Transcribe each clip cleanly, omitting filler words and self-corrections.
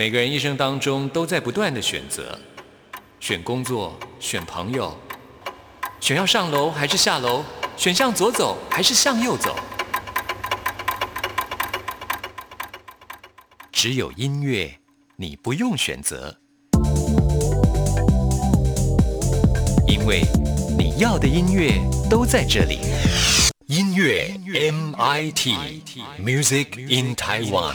每个人一生当中都在不断的选择，选工作，选朋友，选要上楼还是下楼，选向左走还是向右走。只有音乐，你不用选择，因为你要的音乐都在这里。音乐 MIT Music in Taiwan。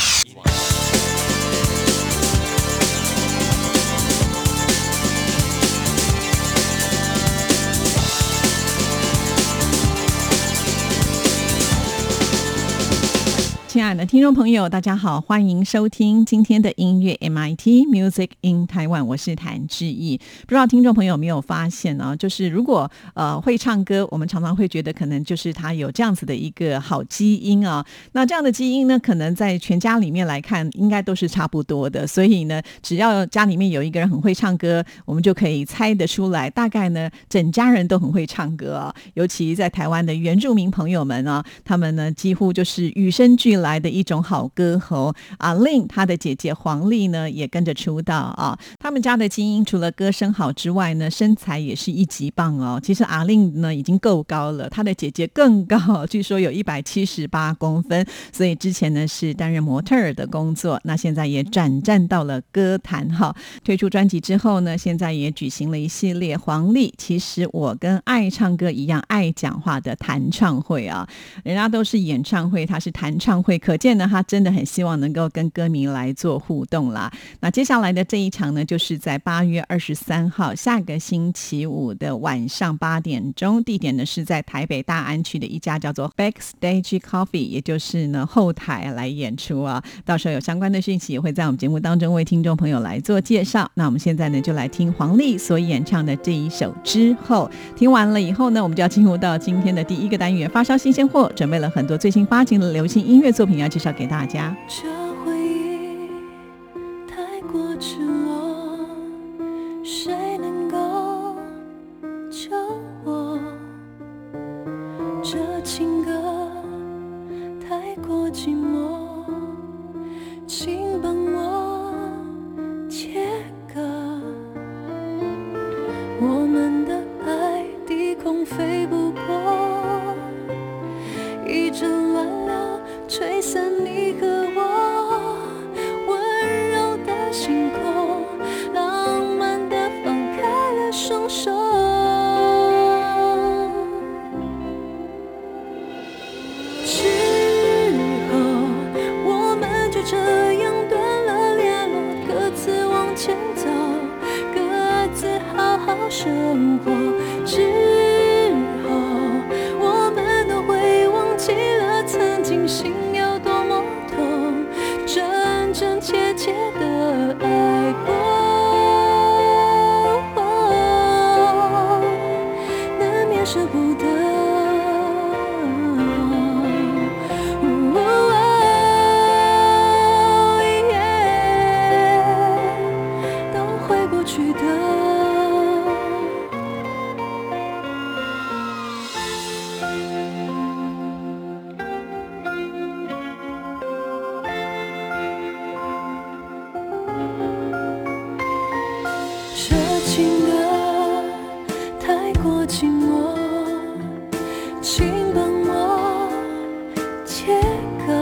亲爱的听众朋友大家好，欢迎收听今天的音乐 MIT Music in Taiwan， 我是谭志毅。不知道听众朋友有没有发现呢？就是如果会唱歌，我们常常会觉得可能就是他有这样子的一个好基因啊。那这样的基因呢，可能在全家里面来看应该都是差不多的，所以呢只要家里面有一个人很会唱歌，我们就可以猜得出来，大概呢整家人都很会唱歌啊。尤其在台湾的原住民朋友们啊，他们呢几乎就是与生俱来的一种好歌喉。阿令她的姐姐黄丽呢也跟着出道啊。他们家的基因除了歌声好之外呢，身材也是一级棒哦。其实阿令呢已经够高了，她的姐姐更高，据说有178公分，所以之前呢是担任模特儿的工作，那现在也转战到了歌坛哈。推出专辑之后呢，现在也举行了一系列黄丽其实我跟爱唱歌一样爱讲话的弹唱会啊。人家都是演唱会，他是弹唱会，可见呢他真的很希望能够跟歌迷来做互动啦。那接下来的这一场呢，就是在8月23号下个星期五的晚上8点钟，地点呢是在台北大安区的一家叫做 Backstage Coffee， 也就是呢后台来演出啊。到时候有相关的讯息也会在我们节目当中为听众朋友来做介绍。那我们现在呢就来听黄丽所演唱的这一首《之后》。听完了以后呢，我们就要进入到今天的第一个单元发烧新鲜货，准备了很多最新发行的流行音乐作品要介绍给大家。 这回忆太过赤裸，谁能够救我？这情歌太过寂寞，请帮我切割。我们的爱低空飞不过，一阵乱流吹散你和我温柔的星空，浪漫的放开了双手。之后我们就这样断了联络，各自往前走，各自好好生活。之后我们都会忘记了曾经心有多么痛，真真切切的爱过，难免舍不得。都会过去的。这情歌太过寂寞，请帮我切割。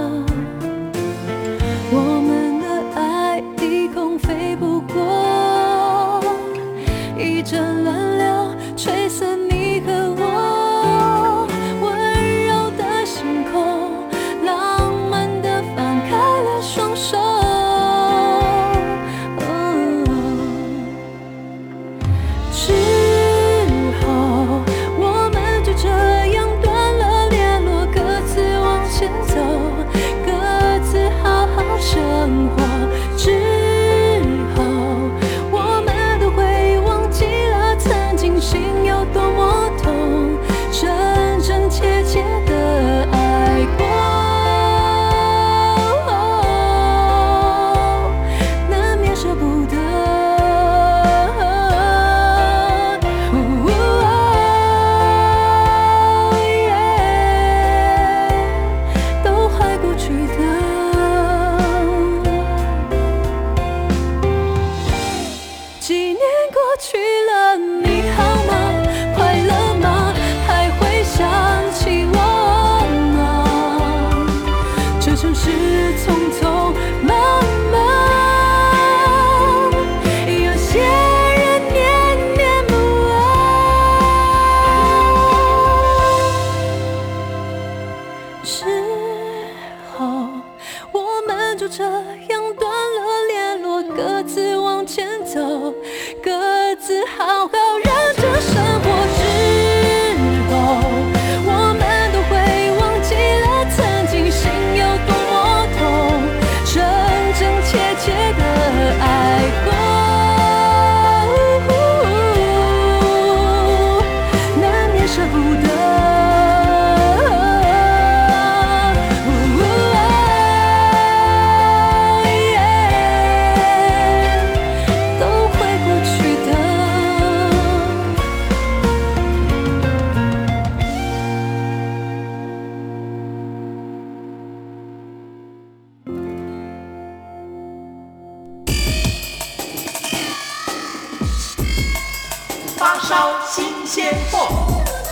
我们的爱低空飞不过，一阵乱流吹散你和我温柔的星空，浪漫的放开了双手。 烧新鲜货。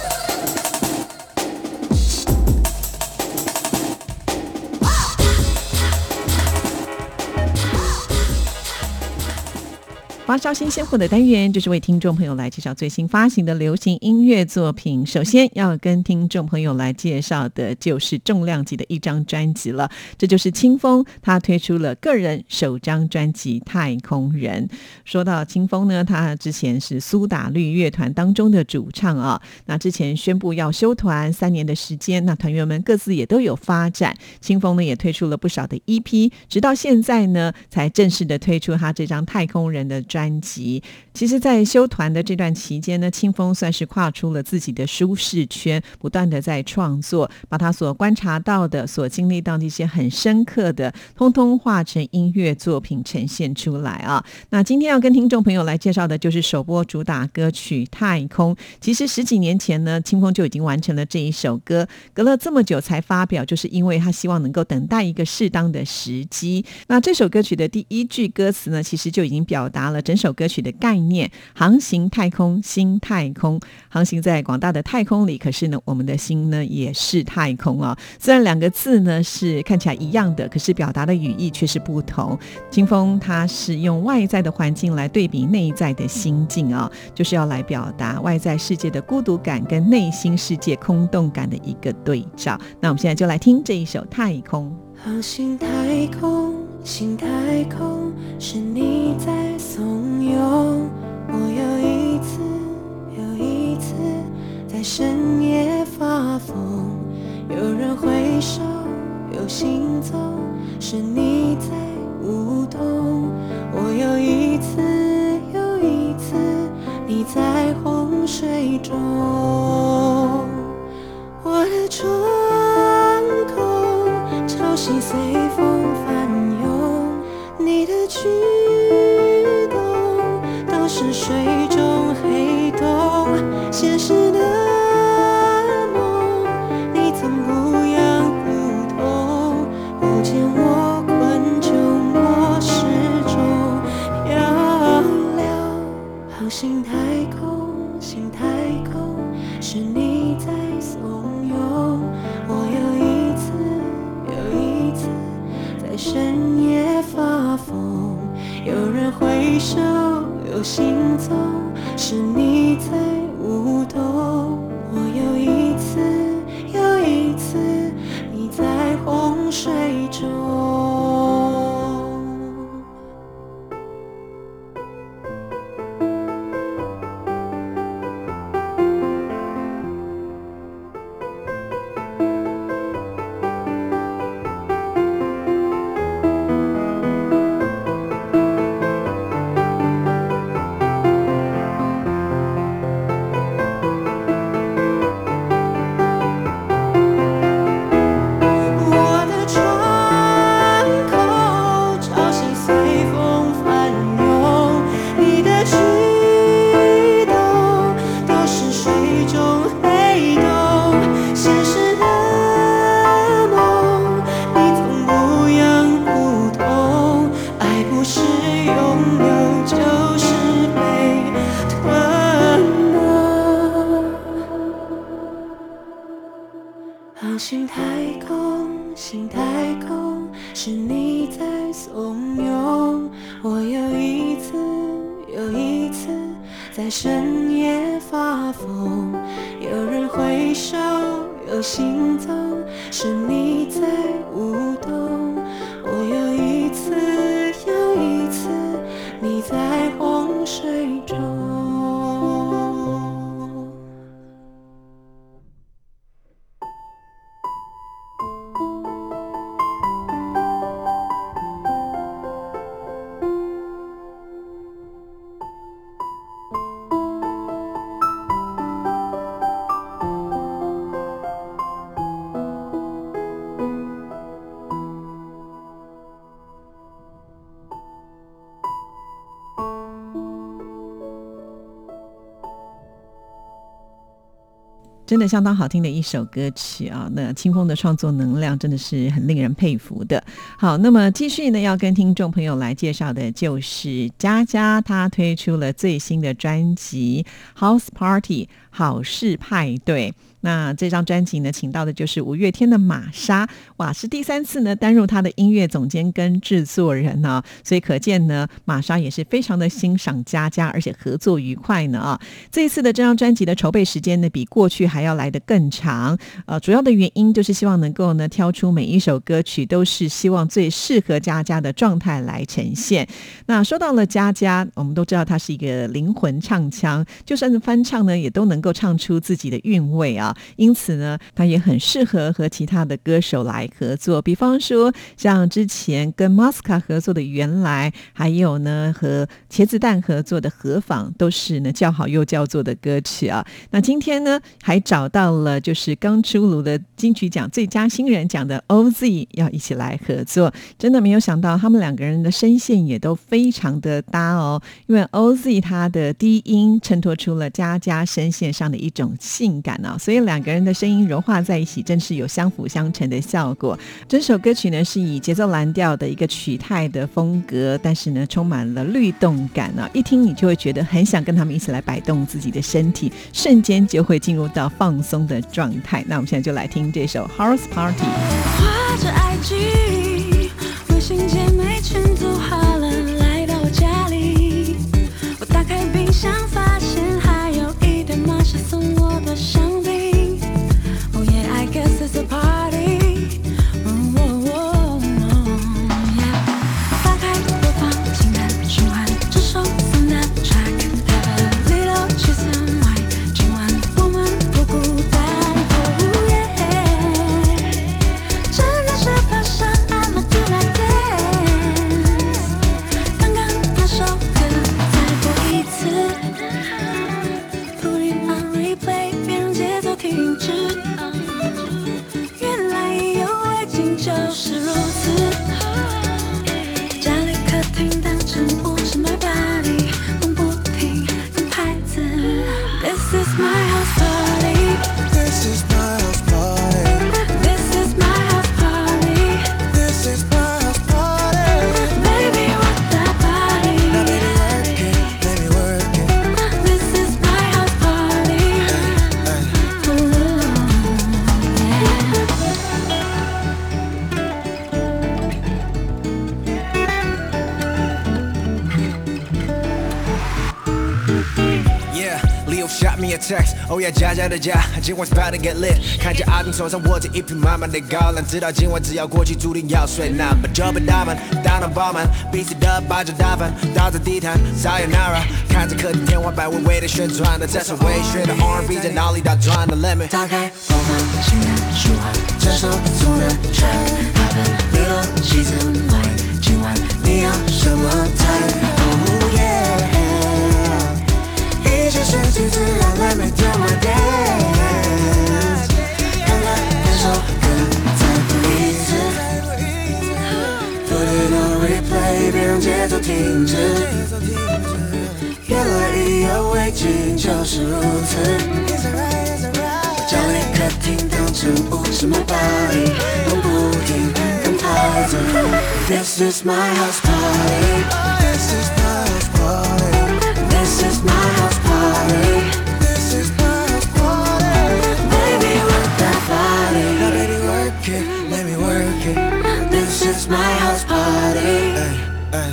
发烧新鲜货的单元，就是为听众朋友来介绍最新发行的流行音乐作品。首先要跟听众朋友来介绍的就是重量级的一张专辑了，这就是青峰，他推出了个人首张专辑《太空人》。说到青峰呢，他之前是苏打绿乐团当中的主唱啊，那之前宣布要休团3年的时间，那团员们各自也都有发展，青峰呢也推出了不少的 EP， 直到现在呢才正式的推出他这张《太空人》的专辑。其实在休团的这段期间呢，青峰算是跨出了自己的舒适圈，不断的在创作，把他所观察到的所经历到的一些很深刻的通通化成音乐作品呈现出来啊。那今天要跟听众朋友来介绍的就是首播主打歌曲《太空》。其实10几年前呢，青峰就已经完成了这一首歌，隔了这么久才发表，就是因为他希望能够等待一个适当的时机。那这首歌曲的第一句歌词呢，其实就已经表达了整首歌曲的概念：航行太空，心太空。航行在广大的太空里，可是呢，我们的心呢也是太空啊。虽然2个字呢是看起来一样的，可是表达的语义却是不同。青峰他是用外在的环境来对比内在的心境啊，就是要来表达外在世界的孤独感跟内心世界空洞感的一个对照。那我们现在就来听这一首《太空》。 航行太空，心太空，是你在怂恿我，又一次又一次在深夜发疯。有人挥手，有行走，是你在舞动。我又一次又一次，你在洪水中。我的窗口潮汐随风翻涌，你的举动都是水中黑洞。现实的梦，你曾不痒不痛，不见我困窘我始终漂流。航行太空，心太空，是你在怂恿我，又一次又一次在深夜发疯。有人挥手，有行走，是你在舞动。我又一次又一次，你在洪水中。航行太空，心太空，是你在怂恿我，又一次又一次在深夜发疯。有人挥手，有行走，是你在舞动。我又一次又一次，你在洪水中。 真的相当好听的一首歌曲啊！那青峰的创作能量真的是很令人佩服的。好，那么继续呢，要跟听众朋友来介绍的就是佳佳，她推出了最新的专辑《House Party》好事派对。那这张专辑呢，请到的就是五月天的玛莎，哇，是第3次呢担任他的音乐总监跟制作人啊，所以可见呢，玛莎也是非常的欣赏佳佳，而且合作愉快呢啊。这一次的这张专辑的筹备时间呢，比过去还要来得更长，主要的原因就是希望能够呢挑出每一首歌曲都是希望最适合佳佳的状态来呈现。那说到了佳佳，我们都知道她是一个灵魂唱腔，就算是翻唱呢，也都能够唱出自己的韵味啊。因此呢，他也很适合和其他的歌手来合作，比方说像之前跟 Masca 合作的原来，还有呢和茄子蛋合作的合仿，都是呢叫好又叫座的歌曲啊。那今天呢还找到了就是刚出炉的金曲奖最佳新人奖的 OZ 要一起来合作，真的没有想到他们两个人的声线也都非常的搭哦，因为 OZ 他的低音衬托出了佳佳声线上的一种性感啊，所以两个人的声音融化在一起，真是有相辅相成的效果。这首歌曲呢是以节奏蓝调的一个曲态的风格，但是呢充满了律动感啊，一听你就会觉得很想跟他们一起来摆动自己的身体，瞬间就会进入到放松的状态。那我们现在就来听这首 House Party。 划着 IG 微信姐妹群组好了，来到我家里，我打开冰箱发现还有一堆玛莎送我的香槟。 Oh yeah, I guess it's a party. Yeah. 打开播放清单循环这首送的 track， Have a little cheese and wine， 今晚我们不孤单。 Oh yeah， 真的是爬上 I'm a do like dance， 刚刚那首歌再播一次 Put it on replay， 别让节奏停止，原来意犹未尽就是如此。家里客厅当成舞池 my body， 蹦不停跟拍子。This is my house party， This is my house party. This is my house party， This is my house party. Baby rock that body， Now baby work it, let me work it. This is my house party。 Yeah, Leo shot me a text. Oh yeah， 家家的家，今晚 about to get lit。看见阿丁手上握着一瓶满满的高粱，知道今晚只要过去，注定要睡那么久不大门，大脑饱满，彼此的抱着大饭，倒着地毯 ，Sayonara。看着客厅天花板微微的旋转的，这首微醺的 R&B 在脑里打转的 Let me 打开播放清单循环这首送的 track，Have a little cheese and wine， 今晚你要什么菜 ？Oh yeah， 一切顺其自然 ，Let me do my dance。刚刚那首歌再播一次 ，Put it on replay， 别让节奏停止。原来意犹未尽就是如此。家里客厅当成舞池 my body， 蹦不停跟拍子。This is my house party， This is my house party. This is my house party， This is my house party. Baby work that Now body， baby work it, let me work it. This is my house party。 Ay.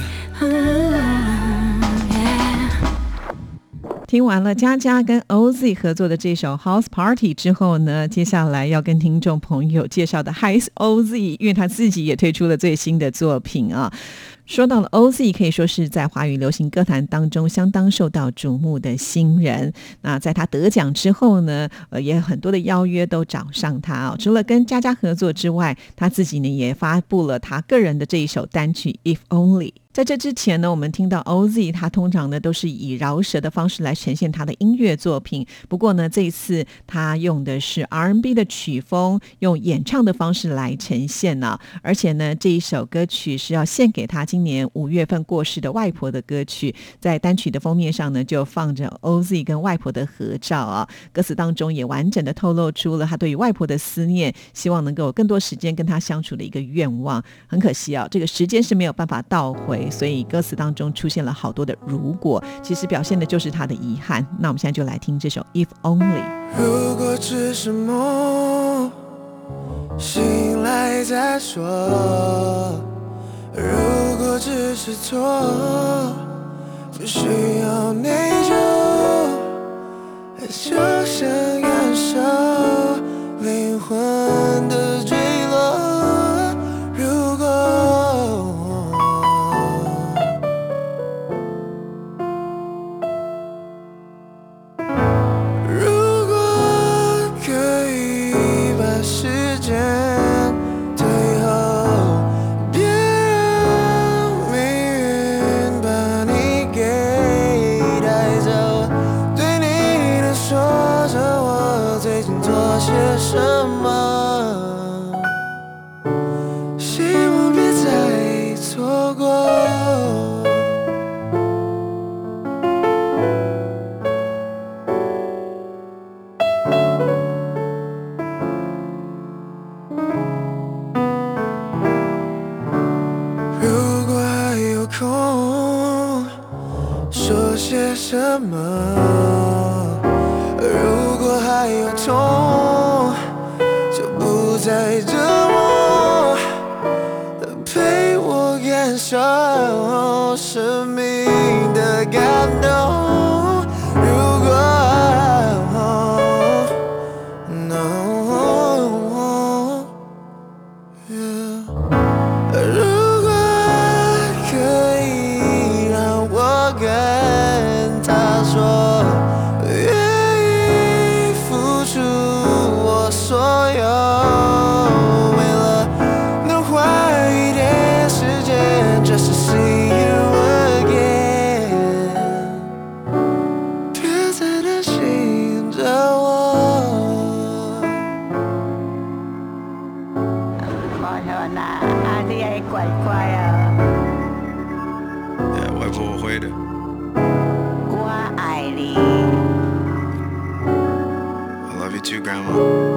Yeah。 听完了佳佳跟 OZ 合作的这首 House Party 之后呢，接下来要跟听众朋友介绍的还是 OZ， 因为他自己也推出了最新的作品啊。说到了 OZ， 可以说是在华语流行歌坛当中相当受到瞩目的新人。那在他得奖之后呢，也很多的邀约都找上他哦。除了跟佳佳合作之外，他自己呢也发布了他个人的这一首单曲 If Only。 在这之前呢，我们听到 OZ 他通常呢都是以饶舌的方式来呈现他的音乐作品，不过呢这一次他用的是 R&B 的曲风，用演唱的方式来呈现呢，而且呢这一首歌曲是要献给他今年5月份过世的外婆的歌曲，在单曲的封面上呢就放着 OZ 跟外婆的合照啊，歌词当中也完整的透露出了他对于外婆的思念，希望能够有更多时间跟他相处的一个愿望。很可惜啊，这个时间是没有办法倒回，所以歌词当中出现了好多的如果，其实表现的就是他的遗憾。那我们现在就来听这首 If Only。 如果只是梦，醒来再说，如果只是错，不需要内疚，就想感受灵魂的坠落。如果可以把时间退后，别让命运把你给带走。对你的说着我最近做些什么，希望别再错过。如果还有空，说些什么？如果还有痛，就不再折磨，陪我感受生命的感动。如果如果可以让我跟他说，愿意付出我所有，为了能换一点时间 Just to see you again， 别再担心着我。 阿弟还乖乖啊！ 外婆我会的。 我爱你。 I love you too, Grandma.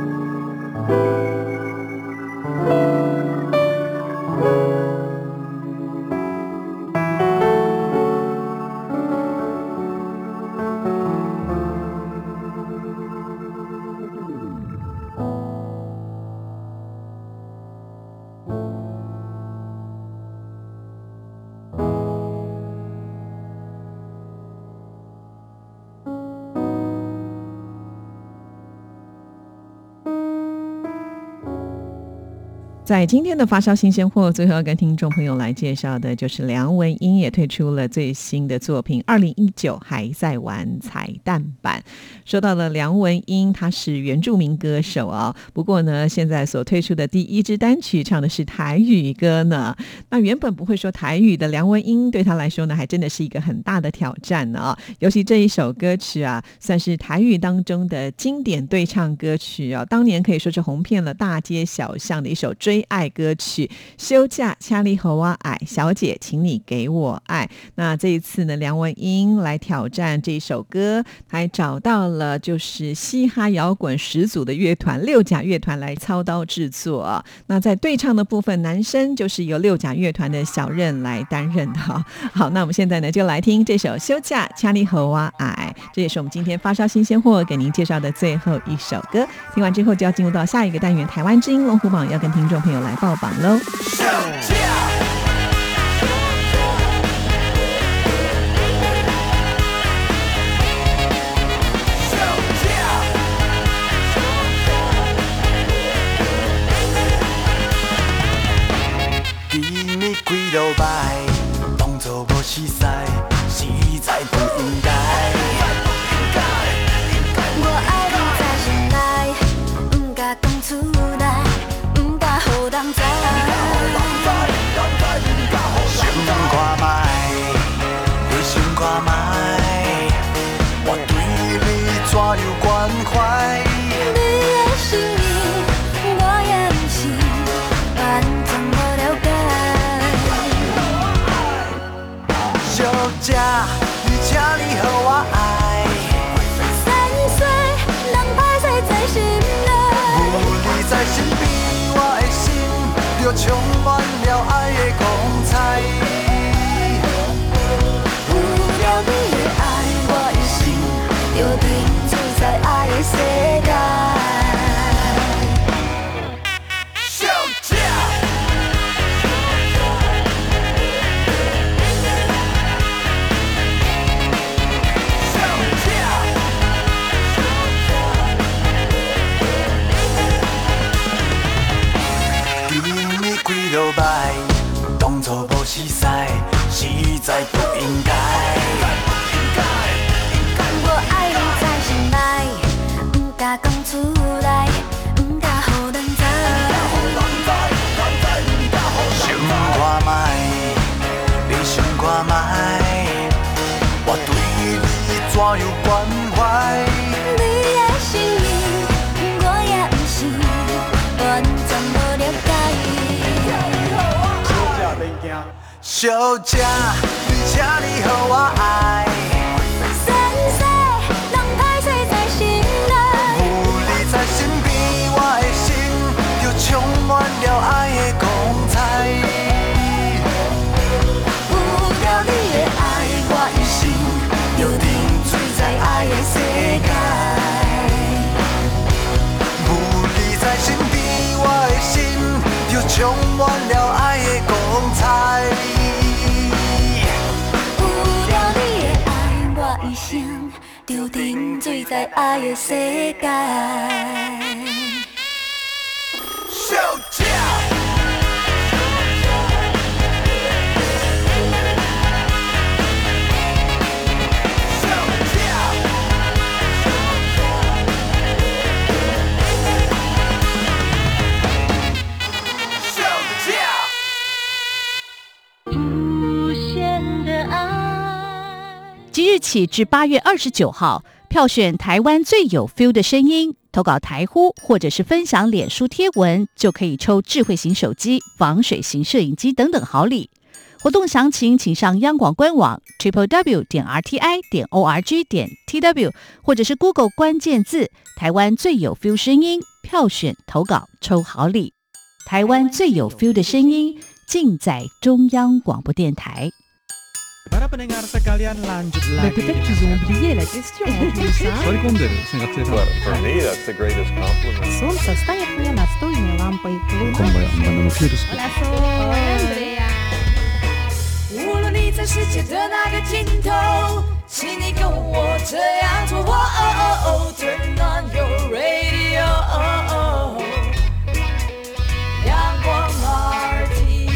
在今天的发烧新鲜货，最后要跟听众朋友来介绍的就是梁文音也推出了最新的作品2019还在玩彩蛋版。说到了梁文音，她是原住民歌手啊，不过呢现在所推出的第一支单曲唱的是台语歌呢。那原本不会说台语的梁文音，对她来说呢还真的是一个很大的挑战呢。尤其这一首歌曲啊，算是台语当中的经典对唱歌曲啊，当年可以说是红遍了大街小巷的一首追爱歌曲。休假掐里猴啊爱，小姐请你给我爱。那这一次呢，梁文音来挑战这一首歌，还找到了就是嘻哈摇滚始祖的乐团六甲乐团来操刀制作啊。那在对唱的部分，男生就是由六甲乐团的小任来担任的。好，那我们现在呢就来听这首休假掐里猴啊爱，这也是我们今天发烧新鲜货给您介绍的最后一首歌。听完之后就要进入到下一个单元台湾之音龙虎榜，要跟听众朋友来报榜喽。 几落摆，当作无实使，实在不应该。 我爱你在心内，不敢讲出来，不敢予人知。 姐，你请你予我爱。 三岁，人歹势在心内。 有你在身边，我的心就充满了爱的光彩。 有了你的爱，我的心就停驻在爱的世界。 小姐。几落摆，当作无实使，实在不应该。 我爱你在心内，不敢讲出来，不敢予人知。 想看卖，你想看卖，我对你怎样关怀？ 你的心意，我也不是完全无了解。 小姐，你请你予我爱。 三岁，人歹势在心内。 有你在身边，我的心就充满了爱的光彩。 有了你的爱，我的心就停驻在爱的世界。 有你在身边，我的心就充满了爱的光彩。就停醉在爱的世界。小姐。 即日起至8月29号，票选台湾最有 feel 的声音，投稿台呼或者是分享脸书贴文，就可以抽智慧型手机、防水型摄影机等等好礼。活动详情请上央广官网 www.rti.org.tw 或者是 Google 关键字台湾最有 feel 声音，票选投稿抽好礼。台湾最有 feel 的声音，尽在中央广播电台。 Para pendengar sekalian, lanjut lagi. Peut-être qu'ils ont oublié la question en plus. For me, that's the greatest compliment. Солнце стоит мне над стольной лампой. Hola, Sol. Andrea. 无论你在世界的哪个尽头，请你跟我这样做。Turn on your radio. 阳光 RTI。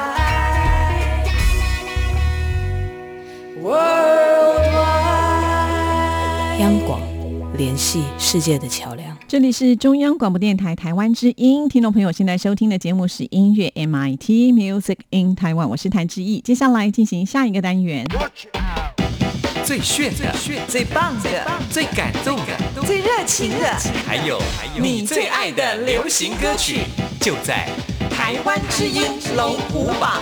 央广，联系世界的桥梁。 这里是中央广播电台台湾之音，听众朋友现在收听的节目是音乐 MIT Music in Taiwan， 我是谭志毅。接下来进行下一个单元， 最炫的、 最棒的、 最感动的、 最热情的， 还有你最爱的流行歌曲，就在台湾之音龙虎榜。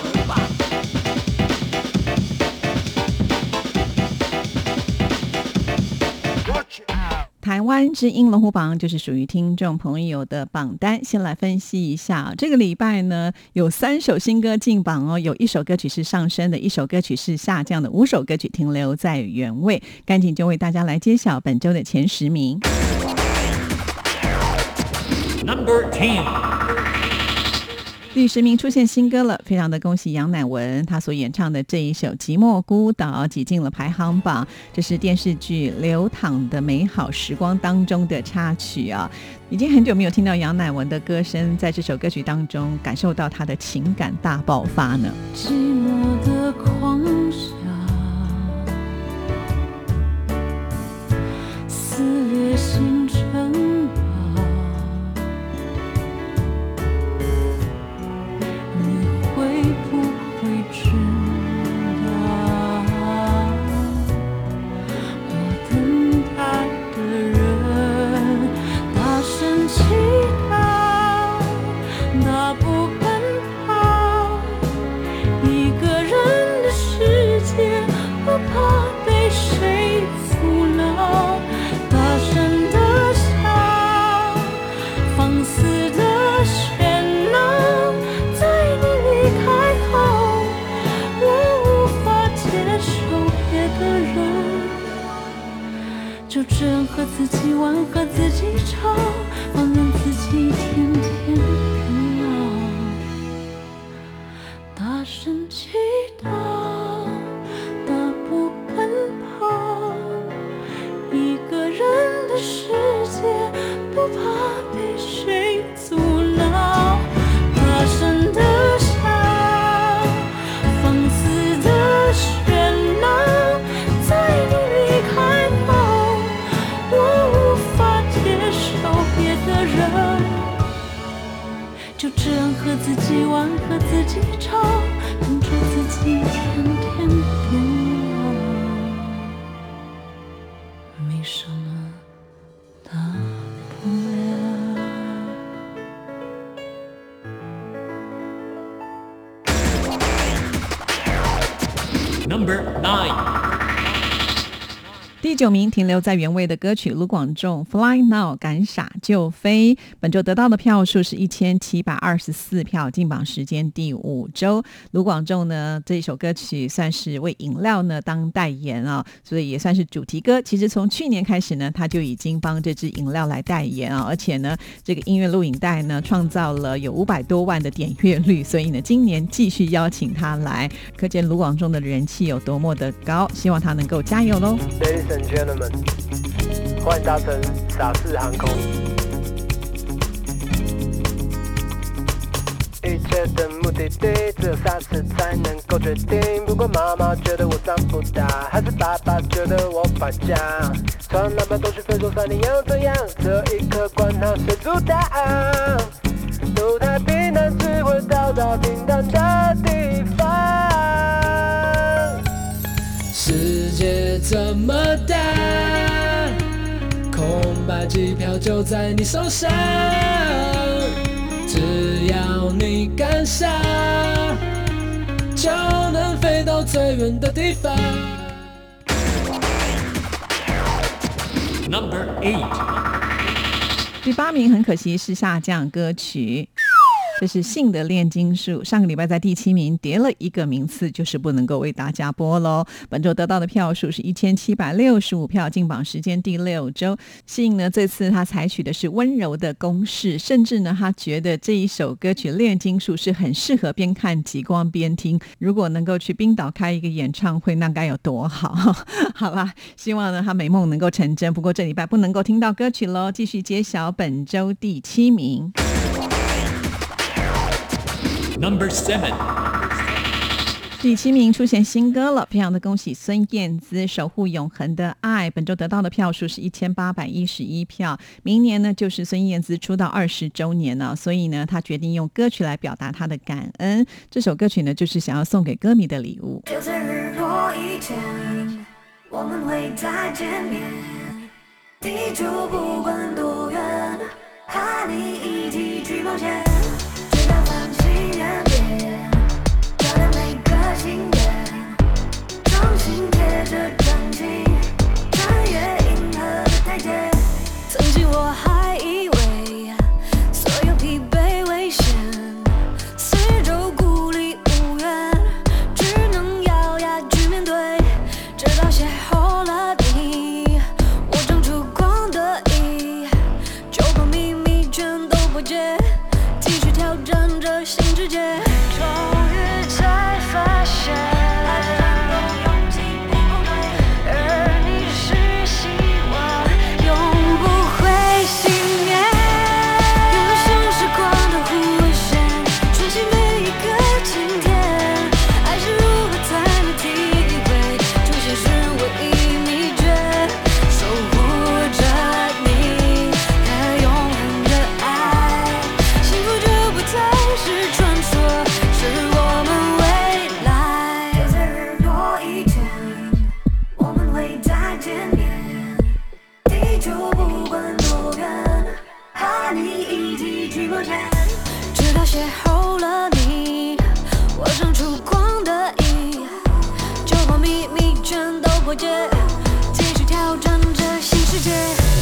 台湾之音龙虎榜就是属于听众朋友的榜单，先来分析一下。这个礼拜呢，有3首新歌进榜哦，有1首歌曲是上升的，1首歌曲是下降的，5首歌曲停留在原位。赶紧就为大家来揭晓本周的前10名。 Number 10。 第10名出现新歌了，非常的恭喜杨乃文，他所演唱的这一首《寂寞孤岛》挤进了排行榜。这是电视剧《流淌的美好时光》当中的插曲啊，已经很久没有听到杨乃文的歌声，在这首歌曲当中感受到他的情感大爆发呢。 寂寞的狂想，撕裂星辰吧，你会不会知道，我等待的人大声祈祷，大步奔跑，一个人的就这样和自己玩，和自己吵，放任自己天天变老，大声祈祷，大步奔跑，一个人的世界，不怕被谁阻挠，大声的笑，放肆的喧闹，在你离开后，我无法接受别的人，就这样和自己玩，和自己吵，等着自己天天变老，没什么大不了。 Number 9. 第9名停留在原位的歌曲卢广仲 Fly Now 敢傻就飞，本周得到的票数是1724票，进榜时间第5周。卢广仲呢这一首歌曲算是为饮料呢当代言啊，所以也算是主题歌。其实从去年开始呢，他就已经帮这支饮料来代言啊，而且呢这个音乐录影带呢创造了有500多万的点阅率，所以呢今年继续邀请他来，可见卢广仲的人气有多么的高，希望他能够加油咯。 Ladies and gentlemen， 欢迎搭乘傻四航空。一切的目的地只有傻四才能够决定，不管妈妈觉得我长不大，还是爸爸觉得我败家，从哪边都去分手3年又怎样？这一刻管他谁主打，走太平淡只会到达平淡的地方。世界这么大，空白机票就在你手上，只要你敢傻，就能飞到最远的地方。 Number 8. 第8名很可惜是下降歌曲，这是信的炼金术，上个礼拜在第7名跌了1个名次，就是不能够为大家播咯。本周得到的票数是1765票，进榜时间第6周。信呢这次他采取的是温柔的攻势，甚至呢他觉得这一首歌曲炼金术是很适合边看极光边听，如果能够去冰岛开一个演唱会那该有多好。好啦，希望呢他美梦能够成真，不过这礼拜不能够听到歌曲咯。继续揭晓本周第7名。 Number 7. 第7名出现新歌了，非常的恭喜孙燕姿守护永恒的爱，本周得到的票数是1811票，明年呢就是孙燕姿出道20周年了，所以呢她决定用歌曲来表达她的感恩，这首歌曲呢就是想要送给歌迷的礼物。 就在日落以前我们会再见面，地球不管多远，和你一起去冒险，直到繁星人变，照亮每个心愿，重新贴着掌心，穿越银河的台阶。曾经我还以为所有疲惫危险，四周孤立无援，只能咬牙去面对，直到邂逅了你，我长出光的意，就把秘密全都破解，继续挑战这新世界。终于才发现，爱的战斗勇气不够对，而你是希望永不会熄灭，永远像时光的弧线，穿行每一个今天，爱是如何才能体会，出现是唯一秘诀，守护着你和永恒的爱，幸福就不再是传说，是我们未来。就在日落以前我们会再见面，地球不管多远，和你一起去冒险，直到邂逅了你，我长出光的意，就把秘密全都破解，继续挑战这新世界。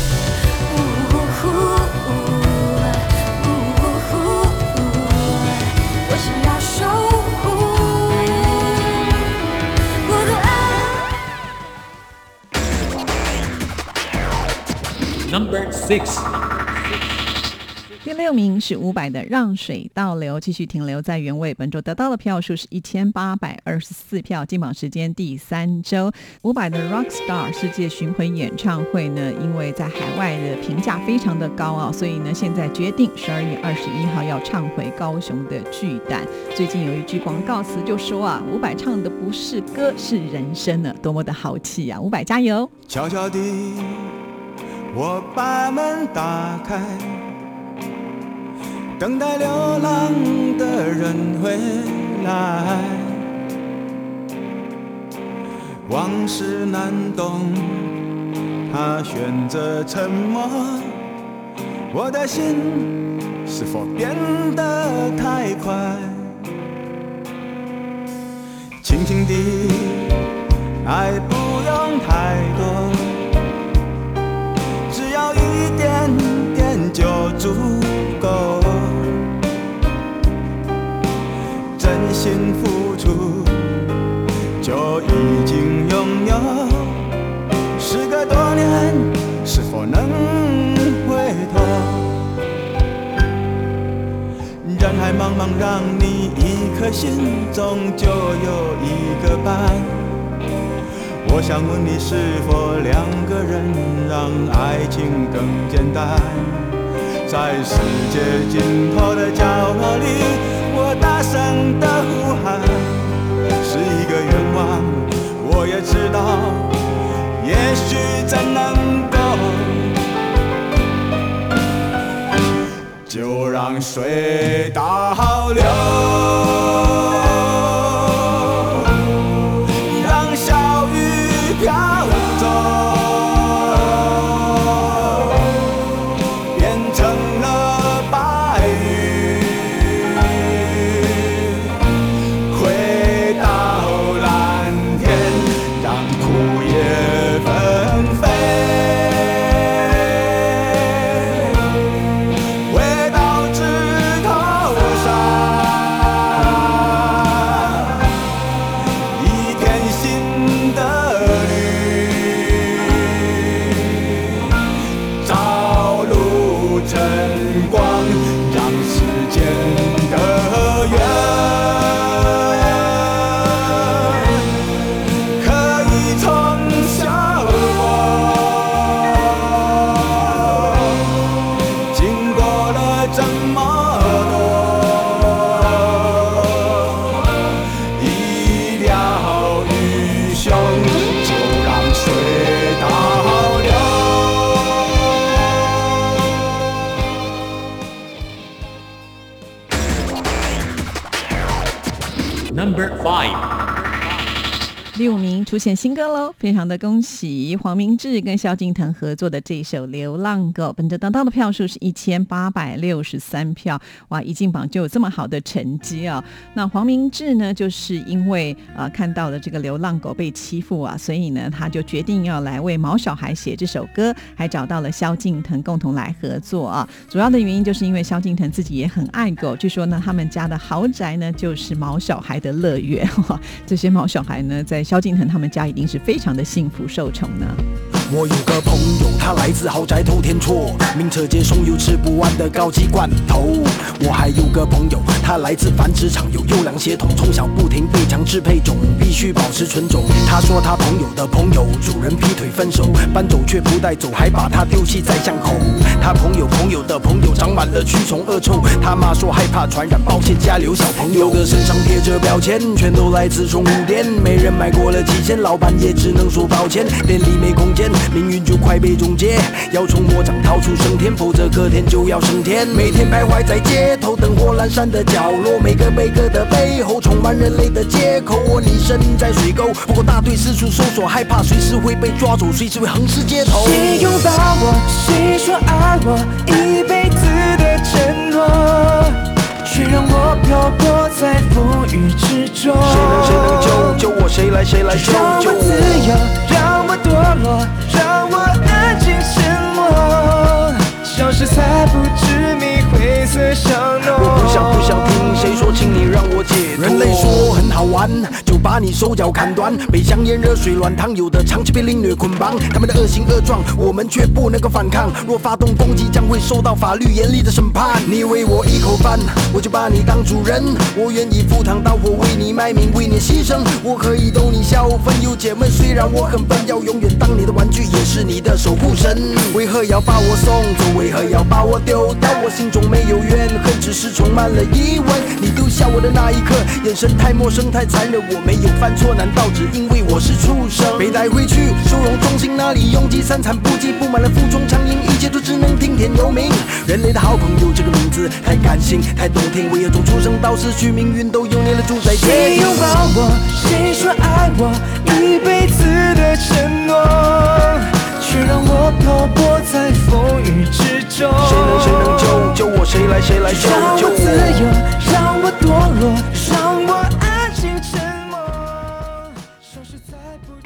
我想要守护我的爱。 Number 6. 第6名是伍佰的《让水倒流》，继续停留在原位。本周得到的票数是1824票，进榜时间第3周。伍佰的 Rockstar 世界巡回演唱会呢，因为在海外的评价非常的高啊，所以呢，现在决定12月21号要唱回高雄的巨蛋。最近有一句广告词就说啊，伍佰唱的不是歌，是人生呢，多么的豪气啊！伍佰加油！ 悄悄地，我把门打开。等待流浪的人回来，往事难懂，他选择沉默，我的心是否变得太快？轻轻地，爱不用太多，只要一点点就足够。真心付出就已经拥有，时隔多年是否能回头？人海茫茫，让你一颗心终究有一个伴。我想问你，是否2个人让爱情更简单？在世界尽头的角落里，我大声的呼喊，是一个愿望，我也知道，也许真能够，就让水倒流，让小雨飘走，变成了白云。 Number 5. 第5名出现新歌喽，非常的恭喜黄明志跟萧敬腾合作的这一首《流浪狗》，本周得到的票数是1863票，哇，一进榜就有这么好的成绩啊！那黄明志呢，就是因为看到了这个流浪狗被欺负啊，所以呢，他就决定要来为毛小孩写这首歌，还找到了萧敬腾共同来合作啊。主要的原因就是因为萧敬腾自己也很爱狗，据说呢，他们家的豪宅呢就是毛小孩的乐园，这些毛小孩呢，在萧敬腾他们家一定是非常的幸福受宠呢。 我有个朋友，他来自豪宅头天厝，名车接送有吃不完的高级罐头。我还有个朋友，他来自繁殖场，有优良血统，从小不停被强制配种，必须保持纯种。他说他朋友的朋友主人劈腿分手，搬走却不带走，还把他丢弃在巷口。他朋友朋友的朋友长满了蛆虫恶臭，他妈说害怕传染，抱歉家里有小朋友。有的身上贴着标签，全都来自宠物店，没人买过了几千，老板也只能说抱歉，店里没空间，命运就快被终结，要从魔掌逃出升天，否则隔天就要升天。每天徘徊在街头，灯火阑珊的角落，每个的背后充满人类的借口。我溺身在水沟，不过大队四处搜索，害怕随时会被抓走，随时会横尸街头。 谁拥抱我，谁说爱我，一辈子的承诺，却让我漂泊在风雨之中。 谁能救我？谁来救我？ 让我自由，让我堕落，让我安静沉默，消失在不知名灰色巷弄。 想不想听？谁说请你让我解脱？人类说我很好玩，就把你手脚砍断，被香烟、热水、软糖，有的长期被凌虐捆绑。他们的恶行恶状，我们却不能够反抗。若发动攻击，将会受到法律严厉的审判。你喂我一口饭，我就把你当主人。我愿意赴汤蹈火，为你卖命，为你牺牲。我可以逗你笑，分忧解闷。虽然我很笨，要永远当你的玩具，也是你的守护神。为何要把我送走？为何要把我丢掉？我心中没有怨恨，只是充满了疑问。你丢下我的那一刻，眼神太陌生，太残忍。我没有犯错，难道只因为我是畜生？被带回去收容中心，那里拥挤，三餐不继，布满了负重苍蝇，一切都只能听天由命。人类的好朋友这个名字太感性，太动听。为何从出生到死去，命运都由你来主宰决定？谁拥抱我？谁说爱我？一辈子的承诺，却让我漂泊在风雨之中。谁能救我？谁来救我？让我自由，让我堕落，让我安静沉默。说实在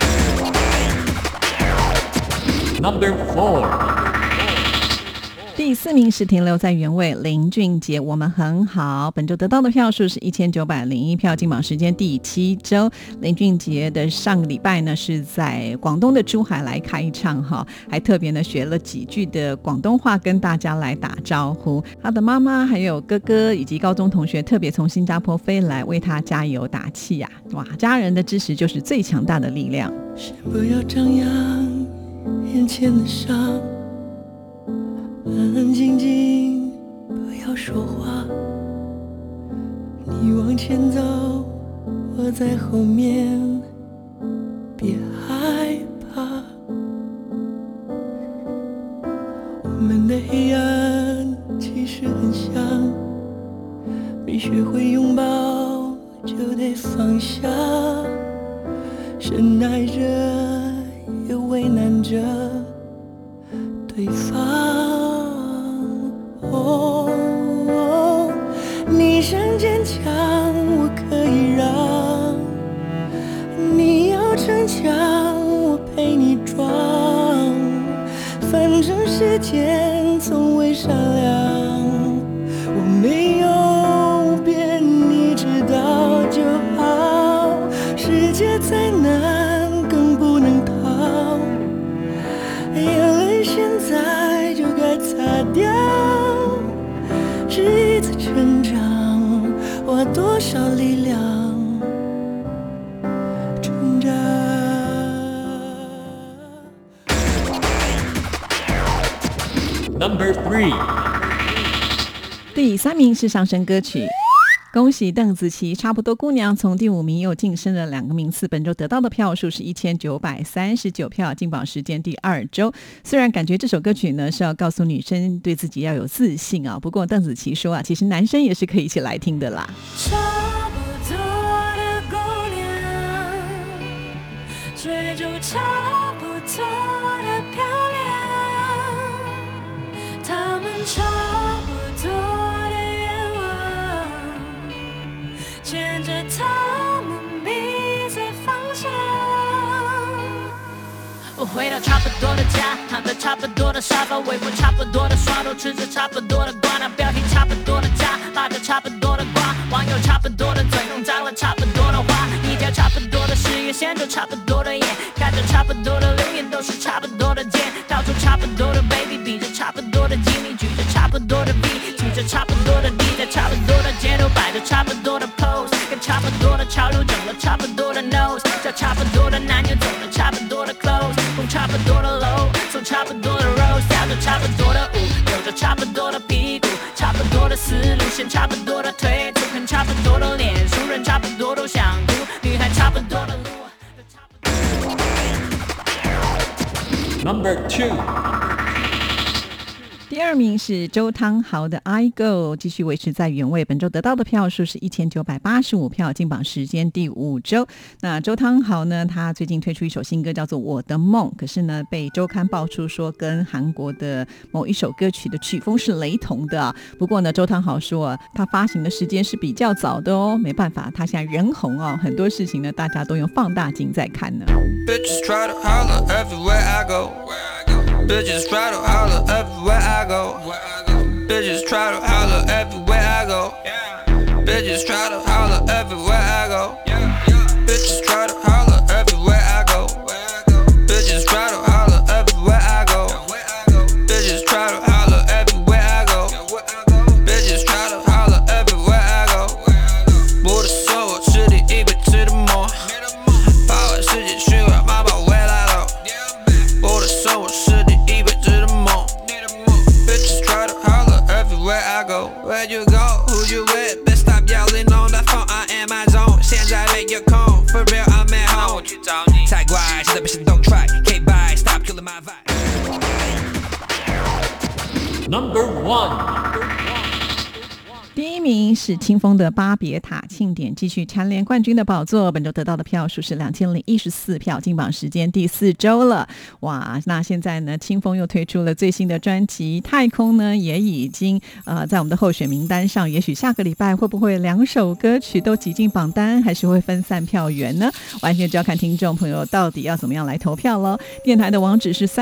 不。 Number 4。 第4名是停留在原位，林俊杰我们很好。本周得到的票数是1901票，进榜时间第7周。林俊杰的上个礼拜呢是在广东的珠海来开唱哈，还特别呢学了几句的广东话跟大家来打招呼。他的妈妈还有哥哥以及高中同学特别从新加坡飞来为他加油打气呀！哇，家人的支持就是最强大的力量。 先不要张扬眼前的伤，安安静静，不要说话。你往前走，我在后面，别害怕。我们的黑暗其实很像，没学会拥抱就得放下，深爱着也为难着对方。你想坚强，我可以让你要逞强，我陪你装。反正时间从未善良，我没有变，你知道就好。世界再难更不能逃，眼泪现在就该擦掉。这一次成长花多少力量挣扎。 Number 3。 第3名是上升歌曲，恭喜邓紫棋，差不多姑娘从第5名又晋升了2个名次，本周得到的票数是1939票，进榜时间第2周。虽然感觉这首歌曲呢是要告诉女生对自己要有自信啊，不过邓紫棋说啊，其实男生也是可以一起来听的啦。 差不多的姑娘，追逐差不多的漂亮，他们差不多的愿望，牵着他们彼此方向。 我回到差不多的家，躺在差不多的沙发，微波差不多的刷头，吃着差不多的瓜，那标题差不多的家，骂着差不多的瓜，网友差不多的嘴，弄脏了差不多的话，一条差不多的事业线，就差不多的眼，看着差不多的留言，都是差不多的贱，到处差不多的 baby， 比着差不多的机密，举着差不多的 B， 举着差不多的 D， 在差不多的街头摆着差不多的 pose， 跟差不多的潮流整了差不多的 nose， 叫差不多的男友走了差不多的 clothes， 碰差不多的楼，走差不多的 road， 跳着差不多的舞，有着差不多的屁股，差不多的思路线，差不多的腿，粗看差不多的脸，熟人差不多都想哭，女孩差不多的路。 Number 2。 第2名是周汤豪的 I Go， 继续维持在原位，本周得到的票数是1985票，进榜时间第5周。那周汤豪呢，他最近推出一首新歌叫做《我的梦》，可是呢被周刊爆出说跟韩国的某一首歌曲的曲风是雷同的。不过呢，周汤豪说他发行的时间是比较早的哦，没办法，他现在人红哦，很多事情呢大家都用放大镜在看呢。 Bitches try to holler everywhere I go. Bitches try to holler everywhere I go. Bitches try to holler everywhere I go. Bitches try to holler everywhere I go. Bitches try to holler everywhere I go. Bitches try to holler everywhere I go. Bitches try to holler everywhere I go. Bitches try to holler everywhere I go. 我的手我吃的一辈子的梦，把我世界循环妈妈回来了。我的手我吃的一辈子的梦。Bitches try to holler everywhere I go. Where you go? Who you with? Bitch stop yelling on the phone. I am my zone. 现在没有空 For real I'm at home. 我去找你。太乖，现在别想 don't try. K bye stop killing my vibe. Number 1。 第一名是清风的巴别塔庆典，继续蝉联冠军的宝座。本周得到的票数是2014票，进榜时间第4周了。哇，那现在呢，清风又推出了最新的专辑《太空》呢，也已经在我们的候选名单上。也许下个礼拜会不会2首歌曲都挤进榜单，还是会分散票源呢？完全就要看听众朋友到底要怎么样来投票咯。电台的网址是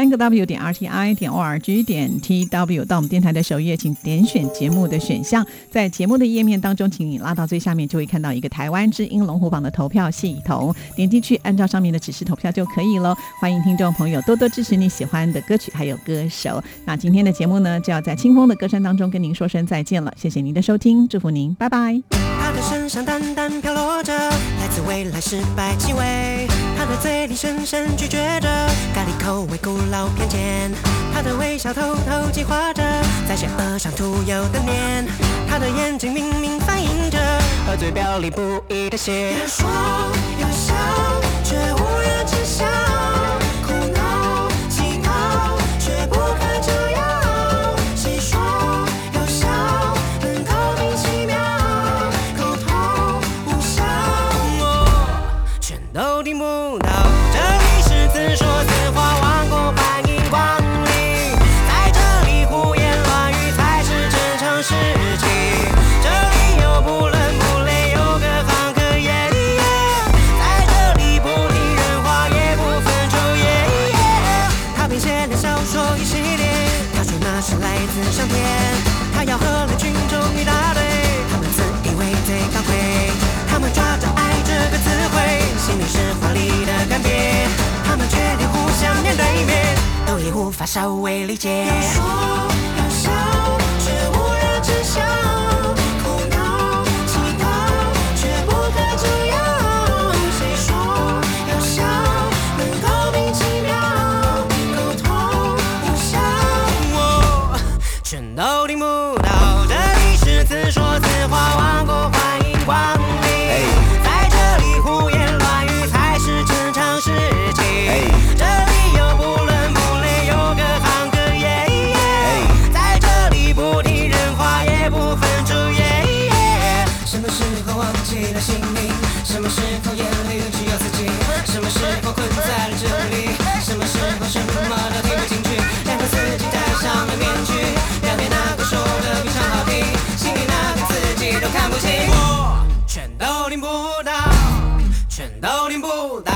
3w.rti.org.tw， 到我们电台的首页，请点选节目的选项，在节目的页面当中，请你拉到最下面，就会看到一个台湾之音龙虎榜的投票系统，点进去按照上面的指示投票就可以了。欢迎听众朋友多多支持你喜欢的歌曲还有歌手。那今天的节目呢，就要在清风的歌声当中跟您说声再见了，谢谢您的收听，祝福您，拜拜。 他的身上淡淡飘落着来自未来失败气味，他的嘴里深深咀嚼着咖喱口味古老偏见，他的微笑偷偷计划着在邪恶上涂油的脸，他的眼睛明明反映着和嘴表里不一的血。有说有笑，却无人知晓，苦恼祈祷，却不可这样。谁说有笑能够并奇妙，沟通无效，全都听不到。这里是自说自话，万国欢迎光临，在这里胡言乱语才是正常事情。这里有不伦不类，有各行各业，在这里不听人话，也不分昼夜。他编写的小说一系列，他说那是来自上天，他要和了群众一大堆，他们自以为最高贵，他们抓着爱这个词汇，心里是华丽的干瘪，他们却连互相面对面都已无法稍微理解。有说有笑，却无人知晓，苦恼祈祷，却不可这样。谁说有笑能够并奇妙，沟通无效，全都听不到。这里是自说自话，万国欢迎光临，在这里胡言乱语才是正常事情。这里有不伦不类，有各行各业，在这里不听人话，也不分昼夜。什么时候忘记了姓名？什么时候眼里只有自己？什么时候困在了这里？什么时候什么都听不进去？两个自己戴上了面具，表面那个说的非常好听，心里那个自己都看不清。我全都听不到，全都听不到。